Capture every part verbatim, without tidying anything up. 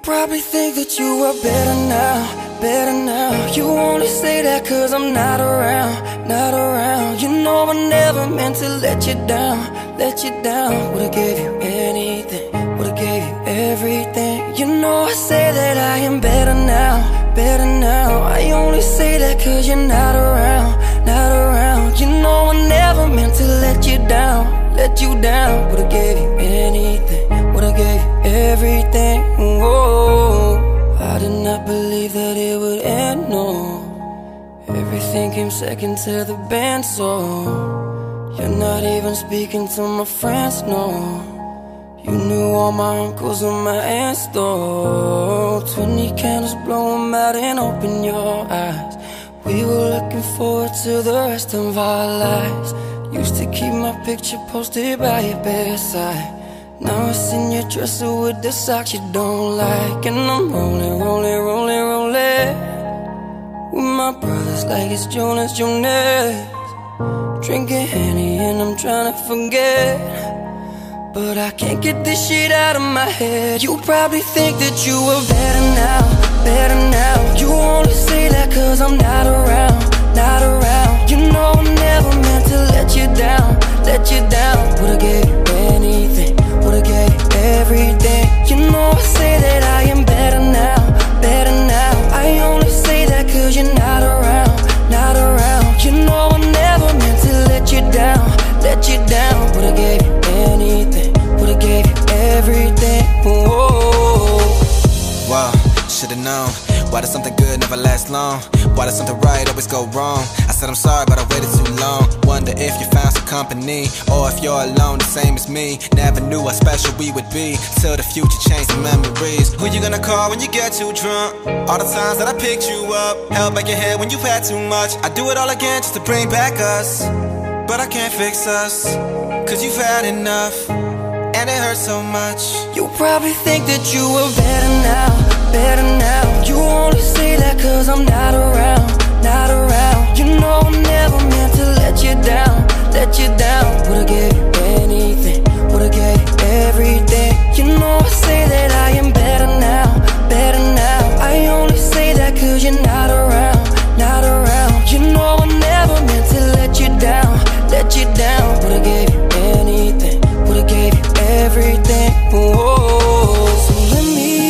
probably think that you are better now, better now. You only say that cause I'm not around, not around. You know I never meant to let you down, let you down. Would've gave you anything, would've gave you everything. You know I say that I am better now, better now. I only say that cause you're not around, not around. You know I never meant to let you down, let you down. Would've gave you anything, would've gave you everything. Whoa, I did not believe that it would end, no. Everything came second to the band, so you're not even speaking to my friends, no. You knew all my uncles and my aunts, though. Twenty candles, blow them out and open your eyes. We were looking forward to the rest of our lives. Used to keep my picture posted by your bedside. Now it's in your dresser with the socks you don't like. And I'm rolling, rolling, rolling, rolling with my brothers like it's Jonas, Jonas. Drinking Henny and I'm trying to forget, but I can't get this shit out of my head. You probably think that you are better now, better now. You only say that cause I'm not around, not around. You know I never meant to let you down, let you down. Would've gave you anything, would've gave you everything. You know I say that I am better now, better now. I only say that cause you're not around, not around. You know I never meant to let you down, let you down. Would've gave you anything, would've gave you everything. Whoa. Wow, should've known. Why does something good never last long? Why does something right always go wrong? I said I'm sorry, but I waited too long. Wonder if you found some company, or if you're alone, the same as me. Never knew how special we would be, till the future changed the memories. Who you gonna call when you get too drunk? All the times that I picked you up, held back your head when you've had too much. I do it all again just to bring back us, but I can't fix us, cause you've had enough, and it hurts so much. You probably think that you are better now, better now. You only say that cause I'm not around, not around. You know I never meant to let you down, let you down. Would've gave you anything, would've gave you everything. You know I say that I am better now, better now. I only say that cause you're not around, not around. You know I never meant to let you down, let you down. Would've gave you anything, would've gave you everything. Whoa. So let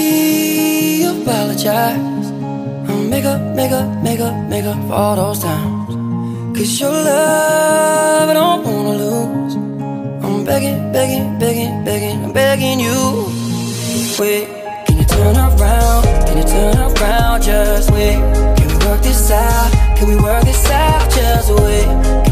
me apologize. I'll make up, make up, make up, make up for all those times. Cause your love I don't wanna lose. I'm begging, begging, begging, begging, I'm begging you. Wait, can you turn around? Can you turn around? Just wait. Can we work this out? Can we work this out? Just wait.